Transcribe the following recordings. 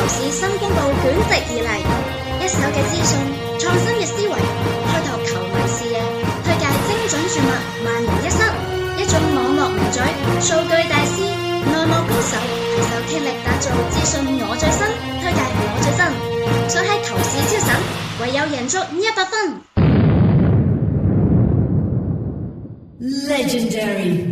市新公佈捲席而嚟，一手嘅資訊，創新嘅思維，開拓球迷視野，推介精準注物，萬無一失。一種網絡名嘴，數據大師，內幕高手，攜手傾力打造資訊我最新，推介我最新，想喺球市超神，唯有贏足100分。 Legendary。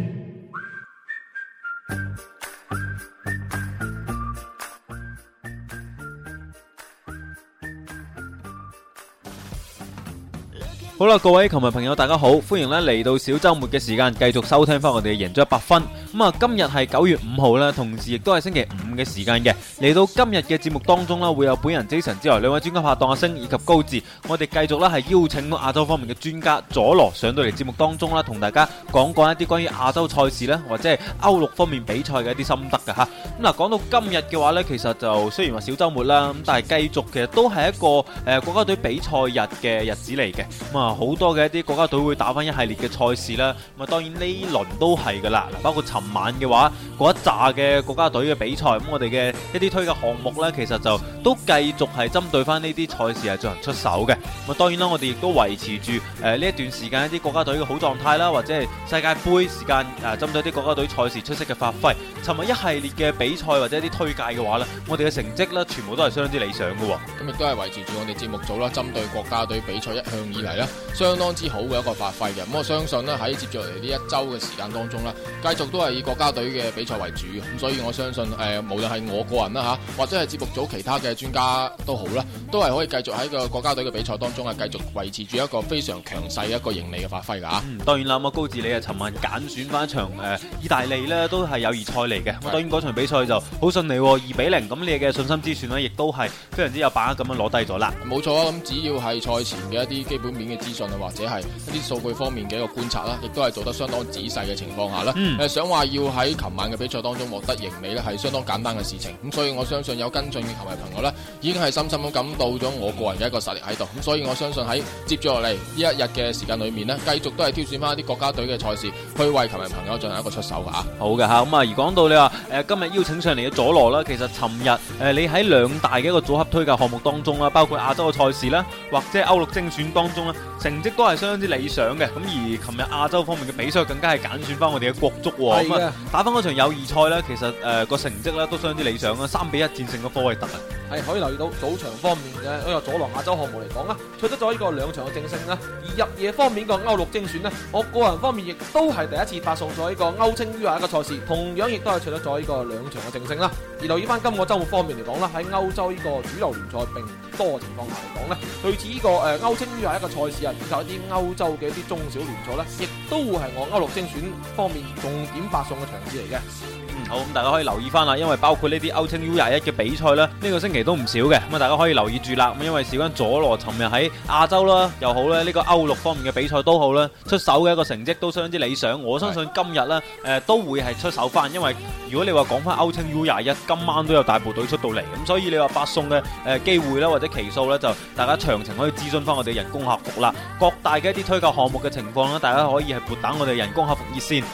好啦，各位球迷朋友大家好，歡迎咧嚟到小周末嘅時間，繼續收聽翻我哋嘅贏足100分。咁啊，今日係9月5號啦，同時亦都係星期五嘅時間嘅。嚟到今日嘅節目當中啦，會有本人 Jason 之外，兩位專家拍檔阿星以及高志，我哋繼續咧係邀請到亞洲方面嘅專家佐羅上到嚟節目當中啦，同大家講一啲關於亞洲賽事咧，或者係歐陸方面比賽嘅一啲心得㗎吓。咁嗱，講到今日嘅話咧，其實就雖然話小周末啦，咁但係繼續其實都係一個國家隊比賽日嘅日子嚟嘅。咁啊，好多嘅一啲國家隊會打翻一系列嘅賽事啦。咁啊，當然呢輪都係噶啦。包括尋晚嘅話，嗰一紮嘅國家隊嘅比賽，咁我哋嘅一啲推介項目呢，其實就都繼續係針對翻呢啲賽事係進行出手嘅。咁啊，當然啦，我哋亦都維持住呢一段時間一啲國家隊嘅好狀態啦，或者係世界盃時間針對啲國家隊賽事出色嘅發揮。尋日一系列嘅比賽或者一啲推介嘅話呢，我哋嘅成績呢，全部都係相當之理想嘅。 咁亦都係維持住我哋節目組啦，針對國家隊比賽一向以嚟啦，相當之好嘅一個發揮嘅。咁我相信咧喺接住嚟呢一周嘅時間當中啦，繼續都係以國家隊嘅比賽為主嘅。咁所以我相信無論係我個人啦吓，或者係節目組其他嘅專家都好啦，都係可以繼續喺個國家隊嘅比賽當中繼續維持住一個非常強勢嘅一個盈利嘅發揮噶吓。 當然啦，咁高志你尋晚揀選翻一場意大利呢都係友誼賽嚟嘅。咁當然嗰場比賽就好順利，2-0。咁你嘅信心之選呢，亦都係非常之有把握咁樣攞低咗啦。 冇錯啊，咁只要係賽前嘅一啲基本面嘅資訊啊，或者係一啲數據方面嘅一個觀察啦，亦都係做得相當仔細嘅情況下啦。想話要喺琴晚嘅比賽當中獲得盈利咧，係相當簡單嘅事情。咁所以我相信有跟進嘅球迷朋友咧，已經係深深咁感到咗我個人嘅一個實力喺度。咁所以我相信喺接住落嚟呢一日嘅時間裏面呢，繼續都係挑選翻一啲國家隊嘅賽事，去為球迷朋友進行一個出手噶吓。 好嘅吓，咁啊而講到你話今日邀請上嚟嘅佐羅啦，其實尋日你喺兩大嘅一個組合推介項目當中啦，包括亞洲嘅賽事啦，或者歐陸精選當中啦，成績都係相當之理想嘅。咁而琴日亞洲方面嘅比賽更加係揀選翻我哋嘅國足喎。咁打翻嗰場友誼賽咧，其實個成績咧都相當之理想啦，3-1戰勝咗科威特啊。 係可以留意到早場方面嘅呢個佐羅亞洲項目嚟講啦，取得咗呢個2場嘅正勝啦。而入夜方面個歐陸精選呢，我個人方面亦都係第一次發送咗呢個歐青 U21嘅賽事，同樣亦都係取得咗呢個2場嘅正勝啦。而留意翻今個週末方面嚟講啦，喺歐洲呢個主流聯賽並唔多嘅情況下嚟講呢，類似呢個歐青 U21嘅賽事啊，以及一啲歐洲嘅一啲中小聯賽呢，亦都會係我歐陸精選方面重點發送嘅場次嚟嘅。 好，咁大家可以留意翻啦，因為包括呢啲歐青 U21嘅比賽呢，呢個星期都唔少嘅，咁啊大家可以留意住啦。咁因為事關佐羅尋日喺亞洲啦又好咧，呢個歐陸方面嘅比賽都好啦，出手嘅一個成績都相當之理想。我相信今日呢都會係出手翻，因為如果你話講翻歐青 U21，今晚都有大部隊出到嚟，咁所以你話發送嘅機會啦或者期數呢，就大家詳情可以諮詢翻我哋人工客服啦。各大嘅一啲推介項目嘅情況呢，大家可以係撥打我哋人工客服熱線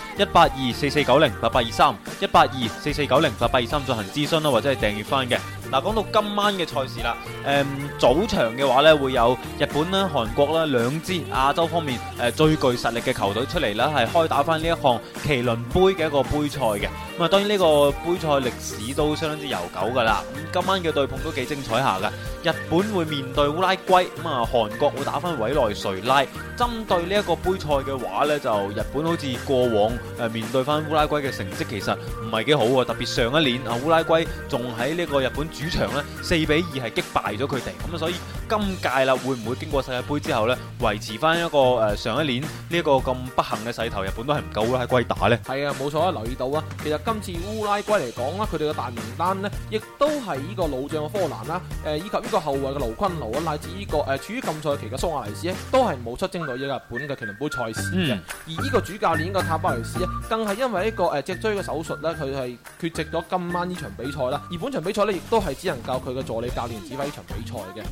18244908823 18244908823進行諮詢啦，或者係訂閱翻嘅。嗱，講到今晚嘅賽事啦，早場嘅話咧會有日本啦、韓國啦兩支亞洲方面最具實力嘅球隊出嚟啦，係開打翻呢一項麒麟杯嘅一個杯賽嘅。咁啊，當然呢個杯賽歷史都相當之悠久噶啦。咁今晚嘅對碰都幾精彩下噶。日本會面對烏拉圭，咁啊韓國會打翻委內瑞拉。針對呢一個杯賽嘅話咧，就日本好似過往面對翻烏拉圭嘅成績其實唔係幾好喎，特別上一年啊烏拉圭仲喺呢個日本主場咧4-2係擊敗咗佢哋，咁啊所以今屆啦會唔會經過世界盃之後咧維持翻一個上一年呢一個咁不幸嘅勢頭，日本都係唔夠烏拉圭打咧？係啊，冇錯啊，留意到啊，其實今次烏拉圭嚟講啦，佢哋嘅大名單呢，亦都係呢個老將嘅科蘭啦，以及呢個後衛嘅盧昆奴啊，乃至呢個處於禁賽期嘅蘇亞雷斯咧，都係冇出征到呢個日本嘅麒麟杯賽事嘅。而呢個主教練嘅塔巴雷斯咧，更係因為呢個脊椎嘅手術咧，佢係缺席咗今晚呢場比賽啦。而本場比賽咧，亦都係只能夠佢嘅助理教練指揮呢場比賽嘅。而睇翻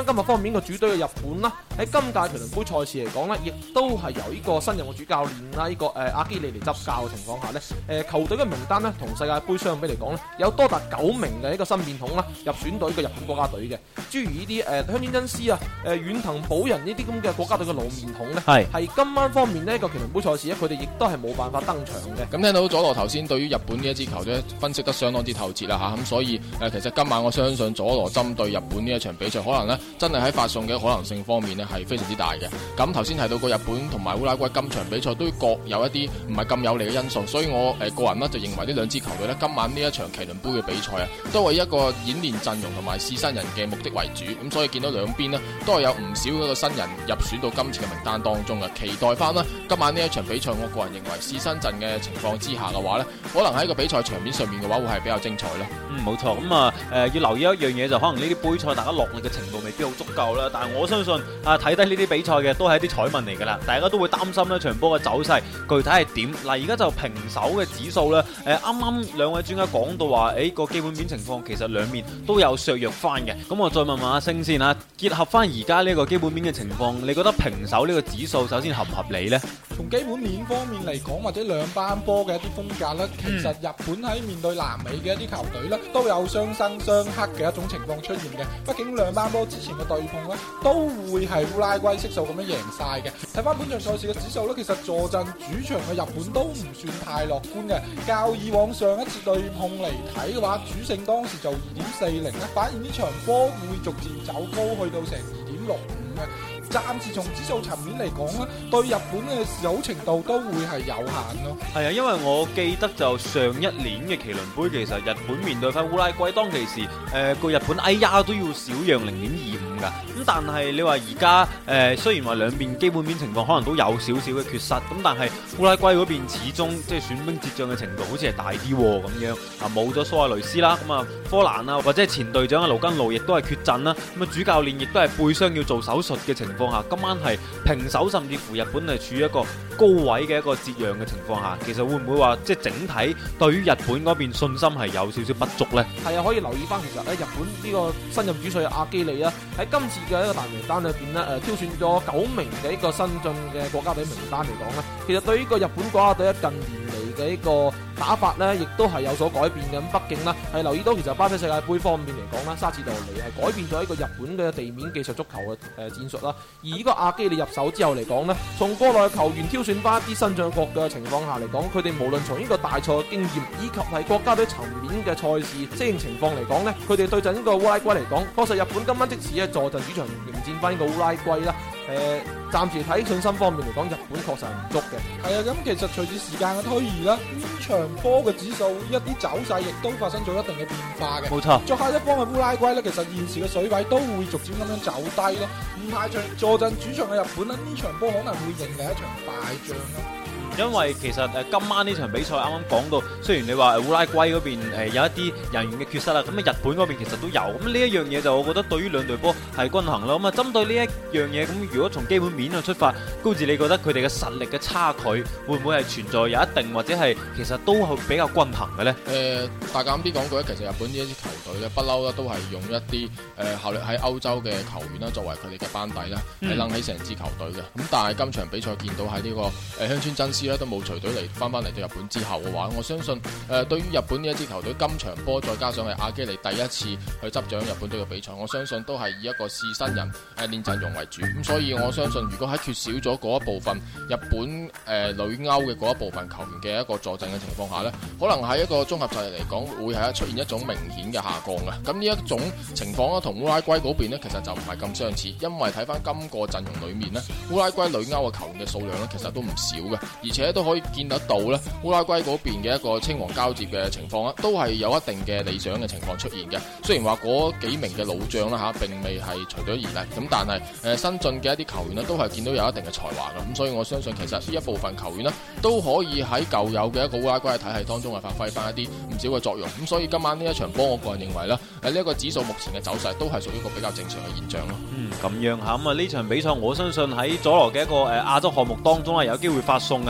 今日方面個主隊嘅日本啦，喺今屆麒麟杯賽事嚟講呢，亦都係由呢個新任嘅主教練啦，呢個阿基里嚟執教嘅情況下呢，球隊嘅名單呢，同世界盃相比嚟講呢，有多達9名嘅一個新面孔啦入選隊嘅日本國家隊嘅，諸如呢啲香川真司啊、遠藤保人呢啲咁嘅國家隊嘅老面孔呢，係今晚方面呢個麒麟杯賽事呢，佢哋亦都係冇辦法登場嘅。 咁聽到佐羅頭先對於日本呢一支球隊分析得相當之透徹啦嚇，咁所以其實今晚我相信佐羅針對日本呢一場比賽，可能呢真係喺發送嘅可能性方面呢係非常之大嘅。咁頭先提到過日本同埋烏拉圭今場比賽都各有一啲唔係咁有利嘅因素，所以我個人呢就認為呢兩支球隊呢今晚呢一場麒麟杯嘅比賽啊，都係一個演練陣容同埋試新人嘅目的為主。咁所以見到兩邊呢都係有唔少嗰個新人入選到今次嘅名單當中嘅，期待翻啦今晚呢一場比賽，我個人認為試新陣嘅情況之下嘅話呢，可能喺個比賽場面上面嘅話會係比較精彩咯。 冇錯，咁要留意一樣嘢就可能呢啲杯賽大家落力嘅程度未必好足夠啦，但係我相信睇低呢啲比賽嘅都係一啲彩民嚟㗎啦，大家都會擔心呢場波嘅走勢具體係點。嗱，而家就平手嘅指數呢，啱啱兩位專家講到話，個基本面情況其實兩面都有削弱翻嘅。咁我再問問阿星先嚇，結合翻而家呢個基本面嘅情況，你覺得平手呢個指數首先合唔合理呢？ 從基本面方面嚟講，或者兩班波嘅一啲風格咧，其實日本喺面對南美嘅一啲球隊咧，都有相生相克嘅一種情況出現嘅。畢竟兩班波之前嘅對碰咧，都會係烏拉圭悉數咁樣贏晒嘅。睇翻本場賽事嘅指數咧，其實坐鎮主場嘅日本都唔算太樂觀嘅。較以往上一次對碰嚟睇嘅話，主勝當時就2.40咧，反而呢場波會逐漸走高去到成2.65嘅。暫時從指數層面嚟講咧，對日本嘅利好程度都會係有限咯。 係啊，因為我記得就上一年嘅麒麟杯，其實日本面對翻烏拉圭，當其時個日本哎呀都要少讓0.25㗎。咁但係你話而家雖然話兩邊基本面情況可能都有少少嘅缺失，咁但係烏拉圭嗰邊始終即係損兵折將嘅程度好似係大啲咁樣啊，冇咗蘇亞雷斯啦，咁啊科蘭啊或者係前隊長嘅盧根路亦都係缺陣啦，咁啊主教練亦都係背傷要做手術嘅情況下，今晚係平手，甚至乎日本係處於一個高位嘅一個折讓嘅情況下，其實會唔會話即係整體對於日本嗰邊信心係有少少不足呢？ 係啊，可以留意翻，其實咧日本呢個新任主帥阿基里啊，喺今次嘅一個大名單裏邊咧，挑選咗9名嘅一個新進嘅國家隊名單嚟講咧，其實對於呢個日本國家隊近年嚟嘅一個打法呢，亦都係有所改變嘅。咁畢竟呢，係留意到其實巴西世界盃方面嚟講啦，沙治道尼係改變咗一個日本嘅地面技術足球嘅戰術啦。而呢個阿基里入手之後嚟講呢，從國內嘅球員挑選翻一啲新將國嘅情況下嚟講，佢哋無論從呢個大賽嘅經驗以及係國家隊層面嘅賽事適應情況嚟講呢，佢哋對陣呢個烏拉圭嚟講，確實日本今晚即使係坐鎮主場迎戰翻呢個烏拉圭啦。暫時睇信心方面嚟講，日本確實係唔足嘅。 係啊，咁其實隨住時間嘅推移啦，呢場波嘅指數一啲走勢亦都發生咗一定嘅變化嘅。 冇錯， 作客一方嘅烏拉圭咧，其實現時嘅水位都會逐漸咁樣走低咯。唔排除坐鎮主場嘅日本咧，呢場波可能會迎嚟一場敗仗咯。 因為其實今晚呢場比賽啱啱講到，雖然你話烏拉圭嗰邊有一啲人員嘅缺失啦，咁日本嗰邊其實都有，咁呢一樣嘢就我覺得對於兩隊波係均衡咯。咁啊針對呢一樣嘢，咁如果從基本面去出發，高志你覺得佢哋嘅實力嘅差距會唔會係存在有一定，或者係其實都係比較均衡嘅呢？ 大膽啲講句咧，其實日本呢一支球隊咧，不嬲咧都係用一啲效力喺歐洲嘅球員啦，作為佢哋嘅班底啦，係掕起成支球隊嘅。咁但係今場比賽見到喺呢個香川真司都冇隨隊嚟翻嚟到日本之後嘅話，我相信對於日本呢一支球隊今場波再加上係阿基里第一次去執掌日本隊嘅比賽，我相信都係以一個試新人練陣容為主。咁所以我相信如果喺缺少咗嗰一部分日本旅歐嘅嗰一部分球員嘅一個坐鎮嘅情況下呢，可能喺一個綜合實力嚟講會係出現一種明顯嘅下降嘅。咁呢一種情況咧，同烏拉圭嗰邊呢其實就唔係咁相似，因為睇翻今個陣容裏面呢，烏拉圭旅歐嘅球員嘅數量呢其實都唔少嘅，而且都可以見得到咧，烏拉圭嗰邊嘅一個青黃交接嘅情況啦，都係有一定嘅理想嘅情況出現嘅。雖然話嗰幾名嘅老將啦並未係隨隊而嚟，咁但係新進嘅一啲球員咧，都係見到有一定嘅才華嘅。咁所以我相信其實呢一部分球員咧，都可以喺舊有嘅一個烏拉圭嘅體系當中係發揮翻一啲唔少嘅作用。咁所以今晚呢一場波，我個人認為咧，呢一個指數目前嘅走勢都係屬於一個比較正常嘅現象咯。咁樣嚇，咁啊呢場比賽我相信喺佐羅嘅一個亞洲項目當中係有機會發送嘅嚇。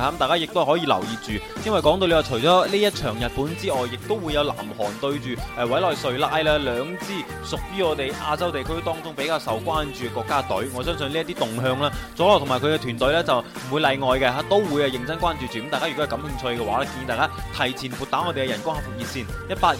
咁大家亦都可以留意住，因為講到你話除咗呢一場日本之外，亦都會有南韓對住委內瑞拉啦，兩支屬於我哋亞洲地區當中比較受關注嘅國家隊。我相信呢一啲動向啦，佐羅同埋佢嘅團隊呢就唔會例外嘅，都會認真關注住。咁大家如果係感興趣嘅話咧，建議大家提前撥打我哋嘅人工客服熱線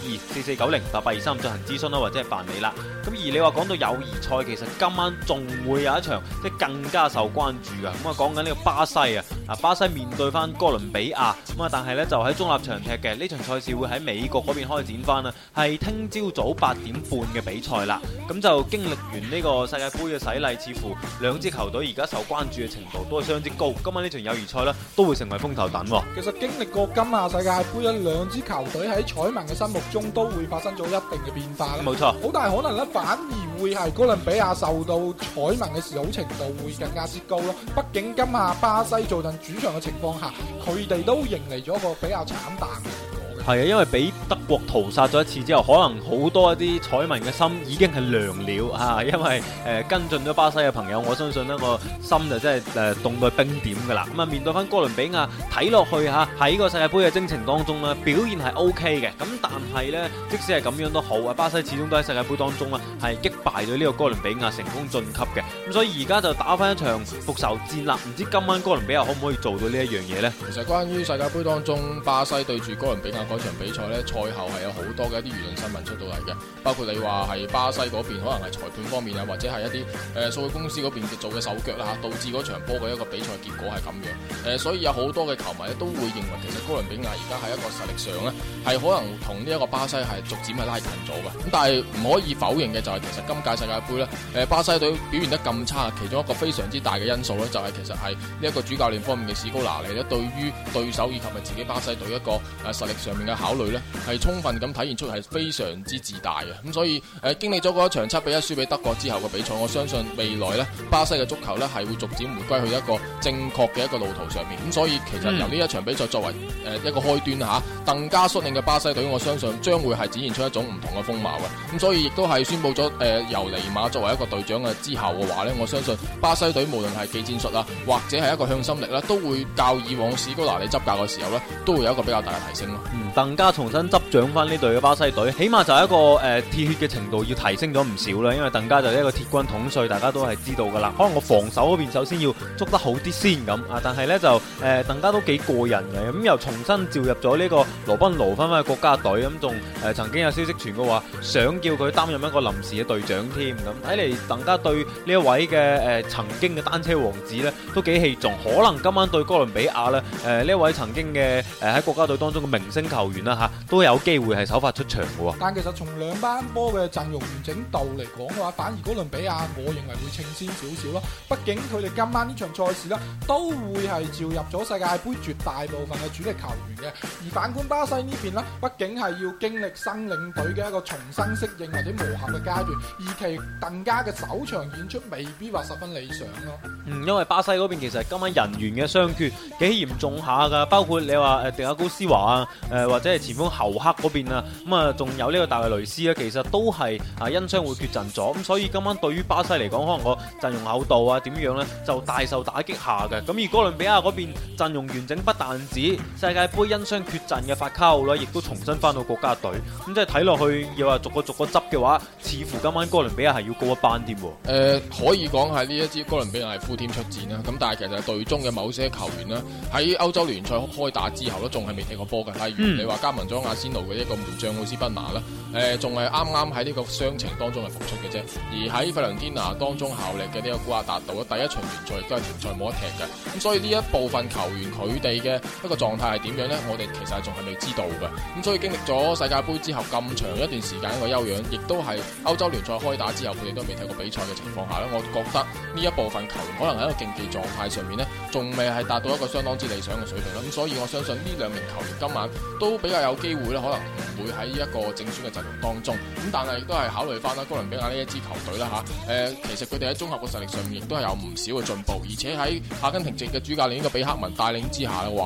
18244908823進行諮詢啦，或者係辦理啦。咁而你話講到友誼賽，其實今晚仲會有一場即係更加受關注嘅。咁啊講緊呢個巴西啊，巴西面對翻哥倫比亞，咁啊但係呢就喺中立場踢嘅呢場賽事會喺美國嗰邊開展翻啦，係聽朝早8點半嘅比賽啦。咁就經歷完呢個世界盃嘅洗禮，似乎兩支球隊而家受關注嘅程度都係相當之高。今晚呢場友誼賽呢都會成為風頭躉。 其實經歷過今夏世界盃，兩支球隊喺彩民嘅心目中都會發生咗一定嘅變化啦。 冇錯， 好大可能咧，反而會係哥倫比亞受到彩民嘅示好程度會更加之高咯。畢竟今夏巴西坐鎮主場嘅情況下，佢哋都迎嚟咗一個比較慘淡嘅結果嘅。 係啊，因為俾德國屠殺咗一次之後，可能好多一啲彩民嘅心已經係涼了嚇，因為跟進咗巴西嘅朋友，我相信呢個心就真係凍到冰點㗎啦。咁啊面對翻哥倫比亞，睇落去嚇喺個世界盃嘅征程當中呢，表現係 OK 嘅。咁但係呢，即使係咁樣都好啊，巴西始終都喺世界盃當中啦，係擊敗咗呢個哥倫比亞，成功晉級嘅。咁所以而家就打翻一場復仇戰啦。唔知今晚哥倫比亞可唔可以做到呢一樣嘢呢？ 其實關於世界盃當中巴西對住哥倫比亞嗰場比賽呢，賽後係有好多嘅一啲輿論新聞出到嚟嘅，包括你話係巴西嗰邊可能係裁判方面啊，或者係一啲數據公司嗰邊做嘅手腳啦嚇，導致嗰場波嘅一個比賽結果係咁樣。所以有好多嘅球迷咧都會認為其實哥倫比亞而家喺一個實力上呢，係可能同呢一個巴西係逐漸係拉近咗嘅。咁但係唔可以否認嘅就係其實今屆世界盃呢，巴西隊表現得咁差，其中一個非常之大嘅因素呢，就係其實係呢一個主教練方面嘅史高拿利呢，對於對手以及係自己巴西隊一個實力上面嘅考慮呢，係充分咁體現出係非常之自大嘅。咁所以經歷咗嗰一場7-1輸俾德國之後嘅比賽，我相信未來呢，巴西嘅足球呢係會逐漸回歸去一個正確嘅一個路途上面。咁所以其實由呢一場比賽作為一個開端嚇，更加率領嘅巴西隊，我相信將會係展現出一種唔同嘅風貌嘅。咁所以亦都係宣布咗由尼馬作為一個隊長嘅之後嘅話呢，我相信巴西隊無論係技戰術啊，或者係一個向心力啦，都會較以往史高拿利執教嘅時候呢，都會有一個比較大嘅提升咯。 鄧加重新執掌翻呢隊嘅巴西隊，起碼就係一個鐵血嘅程度要提升咗唔少啦。因為鄧加就係一個鐵軍統帥，大家都係知道噶啦。可能我防守嗰邊首先要捉得好啲先咁啊，但係呢，就鄧加都幾過人嘅。咁又重新召入咗呢個羅賓奴翻返去國家隊，咁仲曾經有消息傳過話想叫佢擔任一個臨時嘅隊長添。咁睇嚟鄧加對呢一位嘅曾經嘅單車王子呢都幾器重。可能今晚對哥倫比亞呢，呢一位曾經嘅喺國家隊當中嘅明星球員啦嚇，都有機會係首發出場嘅喎。 但其實從兩班波嘅陣容完整度嚟講嘅話，反而哥倫比亞我認為會稱先少少咯。畢竟佢哋今晚呢場賽事呢，都會係召入咗世界盃絕大部分嘅主力球員嘅。而反觀巴西呢邊呢，畢竟係要經歷新領隊嘅一個重新適應或者磨合嘅階段，而其鄧加嘅首場演出未必話十分理想咯。 因為巴西嗰邊其實今晚人員嘅傷缺幾嚴重下㗎，包括你話迪亞高斯華啊，或者係前鋒侯克嗰邊啊，咁啊仲有呢個大衛雷斯咧，其實都係因傷會缺陣咗。咁所以今晚對於巴西嚟講，可能個陣容厚度啊點樣呢，就大受打擊下嘅。咁而哥倫比亞嗰邊陣容完整，不但止世界盃因傷缺陣嘅法卡奧啦，亦都重新翻到國家隊。咁即係睇落去，要話逐個執嘅話，似乎今晚哥倫比亞係要高一班添。 可以講係呢一支哥倫比亞係 full team 出戰啦。咁但係其實隊中嘅某些球員呢，喺歐洲聯賽開打之後呢，仲係未踢過波嘅。例如你話加盟咗阿仙奴嘅一個門將奧斯賓拿啦，仲係啱啱喺呢個傷情當中係復出嘅啫。而喺費倫天拿當中效力嘅呢個古亞達道第一場聯賽亦都係停賽冇得踢嘅。咁所以呢一部分球員佢哋嘅一個狀態係點樣呢？我哋其實仲係未知道嘅。咁所以經歷咗世界盃之後咁長一段時間一個休養，亦都係歐洲聯賽開打之後佢哋都未踢過比賽嘅情況下呢，我覺得呢一部分球員可能喺一個競技狀態上面呢，仲未係達到一個相當之理想嘅水平啦。咁所以我相信呢兩名球員今晚都比較有機會咧，可能唔會喺一個正選嘅陣容當中。咁但係亦都係考慮翻啦，哥倫比亞呢一支球隊啦嚇，其實佢哋喺綜合嘅實力上面亦都係有唔少嘅進步，而且喺阿根廷籍嘅主教練呢個比克文帶領之下嘅話呢，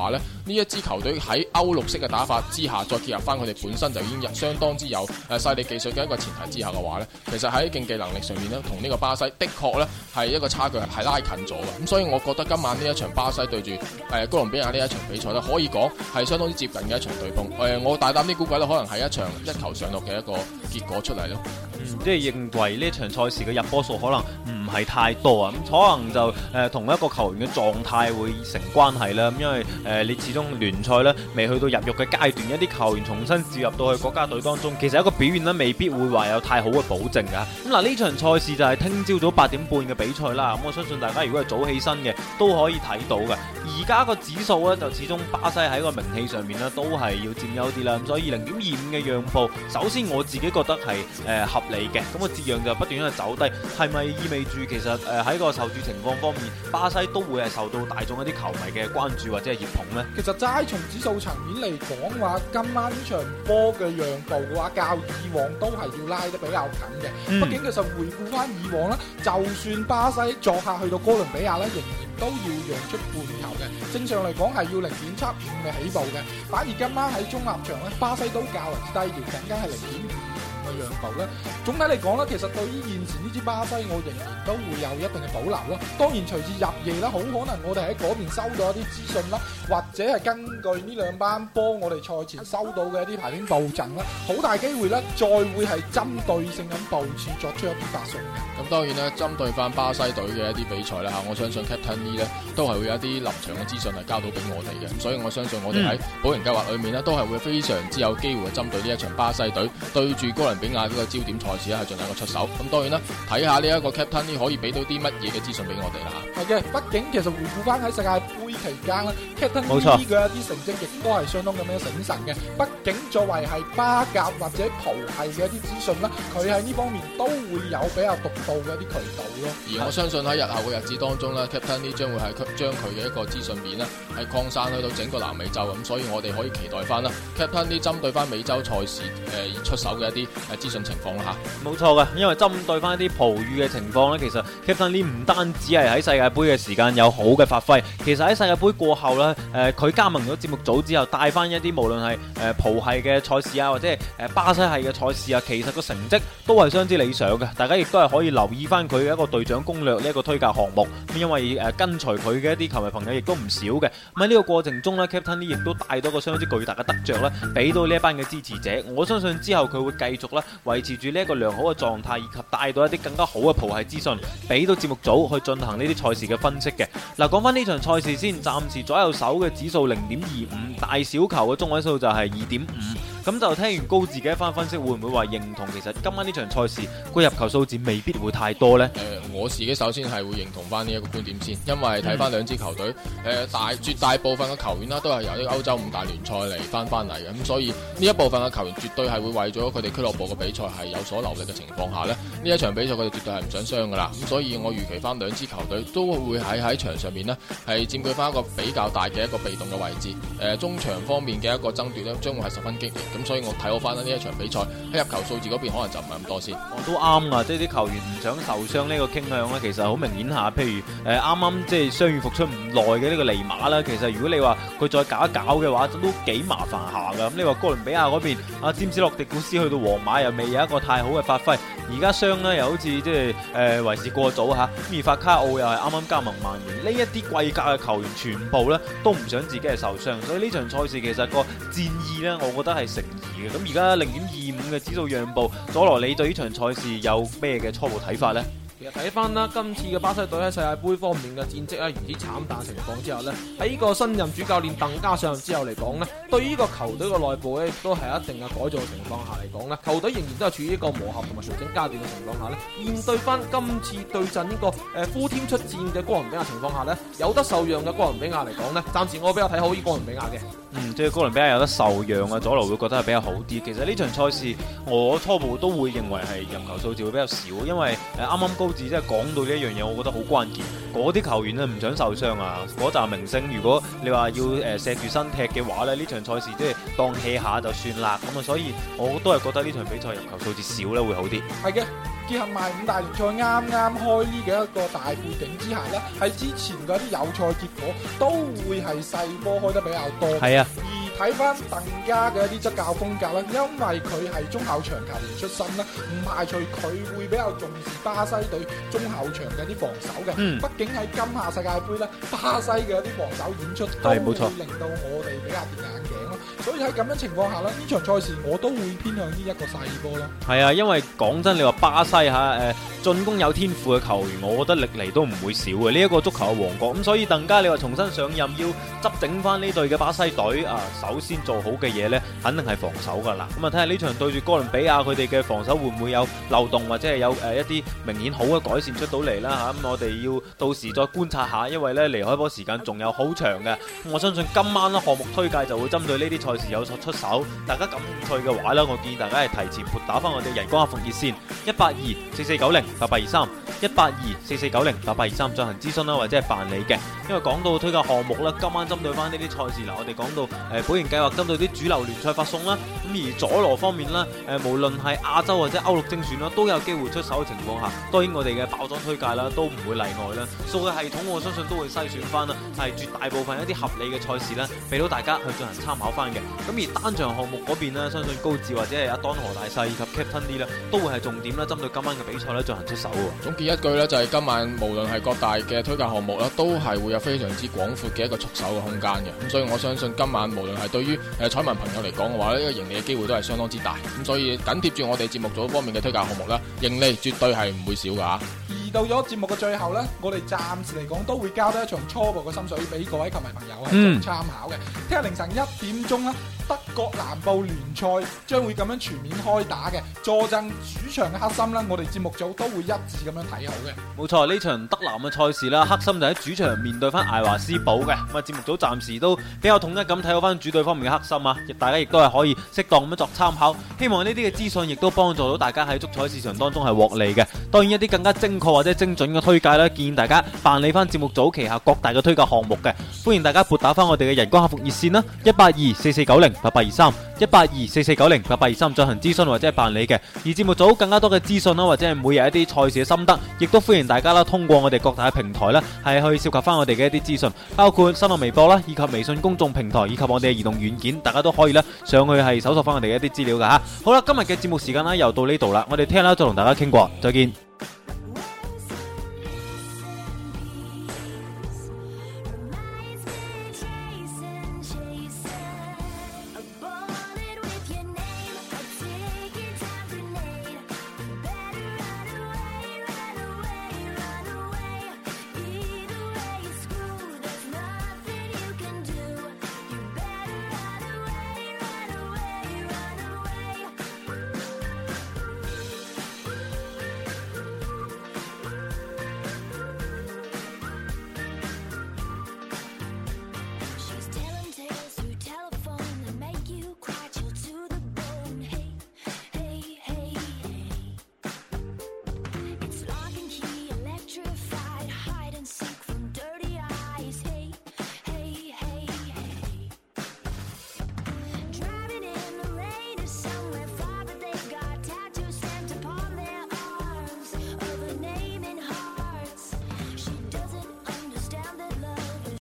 呢一支球隊喺歐陸式嘅打法之下，再結合翻佢哋本身就已經相當之有細力技術嘅一個前提之下嘅話呢，其實喺競技能力上面呢，同呢個巴西的確呢係一個差距係拉近咗嘅。咁所以我覺得今晚呢一場巴西對住哥倫比亞呢一場比賽呢，可以講係相當之接近嘅一場對碰。我大膽啲估計呢，可能係一場一球上落嘅一個結果出嚟咯。 即係認為呢場賽事嘅入波數可能唔係太多啊，咁可能就同一個球員嘅狀態會成關係啦。咁因為你始終聯賽咧未去到入獄嘅階段，一啲球員重新召入到去國家隊當中，其實一個表現咧未必會話有太好嘅保證㗎。咁嗱，呢場賽事就係聽朝早8點半嘅比賽啦。咁我相信大家如果係早起身嘅都可以睇到嘅。而家個指數咧就始終巴西喺個名氣上面咧都係要佔優啲啦。咁所以0.25嘅讓步，首先我自己覺得係合理嘅。咁個折讓就不斷喺度走低，係咪意味住其實喺個受注情況方面，巴西都會係受到大眾一啲球迷嘅關注或者係熱捧呢？ 其實齋從指數層面嚟講話，今晚呢場波嘅讓步嘅話，較以往都係要拉得比較緊嘅。畢竟其實回顧翻以往啦，就算巴西作客去到哥倫比亞咧，仍然都要讓出半球嘅。正常嚟講係要0.75嘅起步嘅，反而今晚喺中立場咧，巴西都較為低調，僅僅係0.25嘅讓步咧。總體嚟講咧，其實對於現時呢支巴西，我仍然都會有一定嘅保留咯。當然隨住入夜啦，好可能我哋喺嗰邊收到一啲資訊啦，或者係根據呢兩班波我哋賽前收到嘅一啲排兵布陣啦，好大機會咧再會係針對性咁部署作出一啲發送嘅。 咁當然啦，針對翻巴西隊嘅一啲比賽啦嚇，我相信 Captain Lee 咧都係會有一啲臨場嘅資訊係交到俾我哋嘅，所以我相信我哋喺保贏計劃裏面咧都係會非常之有機會針對呢一場巴西隊對住哥倫比亞呢個焦點賽事咧係進行一個出手。咁當然啦，睇下呢一個 Captain Lee 可以俾到啲乜嘢嘅資訊俾我哋啦嚇。 係嘅，畢竟其實回顧翻喺世界盃期間啦 Captain Lee 嘅一啲成績亦都係相當咁樣醒神嘅。畢竟作為係巴甲或者葡系嘅一啲資訊啦，佢喺呢方面都會有比較獨到嘅一啲渠道咯。 而我相信喺日後嘅日子當中咧 Captain Lee 將會係將佢嘅一個資訊面咧係擴散去到整個南美洲咁，所以我哋可以期待翻啦 Captain Lee 針對翻美洲賽事出手嘅一啲資訊情況啦嚇。 冇錯嘅，因為針對翻一啲葡語嘅情況咧，其實 Captain Lee 唔單止係喺世界盃嘅時間有好嘅發揮，其實喺世界盃過後咧，佢加盟咗節目組之後，帶翻一啲無論係葡系嘅賽事啊，或者係巴西系嘅賽事啊，其實個成績都係相當之理想嘅。大家亦都係可以留意翻佢嘅一個隊長攻略呢一個推介項目，因為跟隨佢嘅一啲球迷朋友亦都唔少嘅。咁喺呢個過程中咧 Captain Lee 亦都帶到個相當之巨大嘅得着咧，俾到呢一班嘅支持者。我相信之後佢會繼續咧維持住呢一個良好嘅狀態，以及帶到一啲更加好嘅葡系資訊，俾到節目組去進行呢啲賽事嘅分析嘅。嗱，講翻呢場賽事先，暫時左右手嘅指數0.25，大小球嘅中位數就係2.5。咁就聽完高志嘅一番分析，會唔會話認同其實今晚呢場賽事個入球數字未必會太多呢？ 我自己首先係會認同翻呢一個觀點先，因為睇翻兩支球隊，絕大部分嘅球員啦都係由呢個歐洲五大聯賽嚟翻嚟嘅，咁所以呢一部分嘅球員絕對係會為咗佢哋俱樂部嘅比賽係有所留力嘅情況下呢一場比賽佢哋絕對係唔想傷噶啦，咁所以我預期翻兩支球隊都會喺場上面呢係佔據翻一個比較大嘅一個被動嘅位置，中場方面嘅一個爭奪呢將會係十分激烈。咁所以我睇好翻呢一場比賽喺入球數字嗰邊可能就唔係咁多先。 我都啱啊，即係啲球員唔想受傷呢個傾向咧，其實好明顯下。譬如啱啱即係傷愈復出唔耐嘅呢個尼馬啦，其實如果你話佢再搞一搞嘅話，都幾麻煩下噶。咁你話哥倫比亞嗰邊阿詹士洛迪古斯去到皇馬又未有一個太好嘅發揮，而家傷咧又好似即係為時過早嚇。而法卡奧又係啱啱加盟曼聯，呢一啲貴價嘅球員全部咧都唔想自己係受傷，所以呢場賽事其實個戰意咧，我覺得係成疑嘅。咁而家0.25嘅指數讓步，佐羅你對呢場賽事有咩嘅初步睇法呢？ 其實睇翻啦，今次嘅巴西隊喺世界盃方面嘅戰績咧，如此慘淡情況之下呢，喺呢個新任主教練鄧加上任之後嚟講呢，對於呢個球隊嘅內部咧，亦都係一定嘅改造嘅情況下嚟講呢，球隊仍然都係處於一個磨合同埋調整階段嘅情況下呢，面對翻今次對陣呢個full team出戰嘅哥倫比亞情況下呢，有得受讓嘅哥倫比亞嚟講呢，暫時我比較睇好呢哥倫比亞嘅。 即係哥倫比亞有得受讓啊，佐羅會覺得係比較好啲。其實呢場賽事我初步都會認為係入球數字會比較少，因為啱啱高字真係講到呢一樣嘢，我覺得好關鍵。嗰啲球員咧唔想受傷啊，嗰紮明星如果你話要錫住身踢嘅話咧，呢場賽事即係當 hea 下就算啦。咁啊，所以我都係覺得呢場比賽入球數字少咧會好啲。 係嘅。結合埋五大聯賽啱啱開呢嘅一個大背景之下呢，喺之前嗰啲友賽結果都會係細波開得比較多。 係啊， 而睇翻鄧家嘅一啲執教風格啦，因為佢係中後場球員出身啦，唔排除佢會比較重視巴西隊中後場嘅啲防守嘅。畢竟喺今夏世界盃咧，巴西嘅一啲防守演出都會令到我哋比較跌眼鏡咯。所以喺咁樣情況下呢，呢場賽事我都會偏向呢一個細波咯。 係啊，因為講真，你話巴西進攻有天賦嘅球員，我覺得歷嚟都唔會少嘅。呢一個足球嘅王國，咁所以鄧加你話重新上任要執整翻呢隊嘅巴西隊啊，首先做好嘅嘢呢，肯定係防守噶啦。咁啊，睇下呢場對住哥倫比亞，佢哋嘅防守會唔會有漏洞，或者係有一啲明顯好嘅改善出到嚟啦嚇。咁我哋要到時再觀察下，因為呢離開波時間仲有好長嘅。我相信今晚呢項目推介就會針對呢啲賽事有所出手。大家感興趣嘅話呢，我建議大家係提前撥打翻我哋人工客服熱線18244908823 18244908823進行諮詢啦，或者係辦理嘅。因為講到推介項目啦，今晚針對翻呢啲賽事啦，我哋講到保盈計劃針對啲主流聯賽發送啦。咁而佐羅方面啦，無論係亞洲或者歐陸精選啦，都有機會出手嘅情況下，當然我哋嘅爆裝推介啦都唔會例外啦。數據系統我相信都會篩選翻啦，係絕大部分一啲合理嘅賽事啦，俾到大家去進行參考翻嘅。咁而單場項目嗰邊呢，相信高智或者係阿當何大細以及 Captain D 咧，都會係重點啦，針對今晚嘅比賽咧進行出手喎。 總結一句呢，就係今晚無論係各大嘅推介項目啦，都係會有非常之廣闊嘅一個出手嘅空間嘅。咁所以我相信今晚無論係對於彩民朋友嚟講嘅話呢，呢個盈利嘅機會都係相當之大。咁所以緊貼住我哋節目組方面嘅推介項目啦，盈利絕對係唔會少噶。 而到咗節目嘅最後呢，我哋暫時嚟講都會交多一場初步嘅心水俾各位球迷朋友係做參考嘅。聽日凌晨1點鐘啦，德國南部聯賽將會咁樣全面開打嘅，坐鎮主場嘅黑森啦，我哋節目組都會一致咁樣睇好嘅。 冇錯，呢場德南嘅賽事啦，黑森就喺主場面對翻艾華斯堡嘅。咁啊，節目組暫時都比較統一咁睇好翻主隊方面嘅黑森啊，大家亦都係可以適當咁樣作參考。希望呢啲嘅資訊亦都幫助到大家喺足彩市場當中係獲利嘅。當然一啲更加精確或者精準嘅推介啦，建議大家辦理翻節目組旗下各大嘅推介項目嘅。歡迎大家撥打翻我哋嘅人工客服熱線啦，18244908823 18244908823進行諮詢或者係辦理嘅。而節目組更加多嘅資訊啦，或者係每日一啲賽事嘅心得，亦都歡迎大家啦，通過我哋各大嘅平台啦，係去涉及翻我哋嘅一啲資訊，包括新浪微博啦，以及微信公眾平台，以及我哋嘅移動軟件，大家都可以啦上去係搜索翻我哋嘅一啲資料噶吓。好啦，今日嘅節目時間啦又到呢度啦，我哋聽日啦再同大家傾過，再見。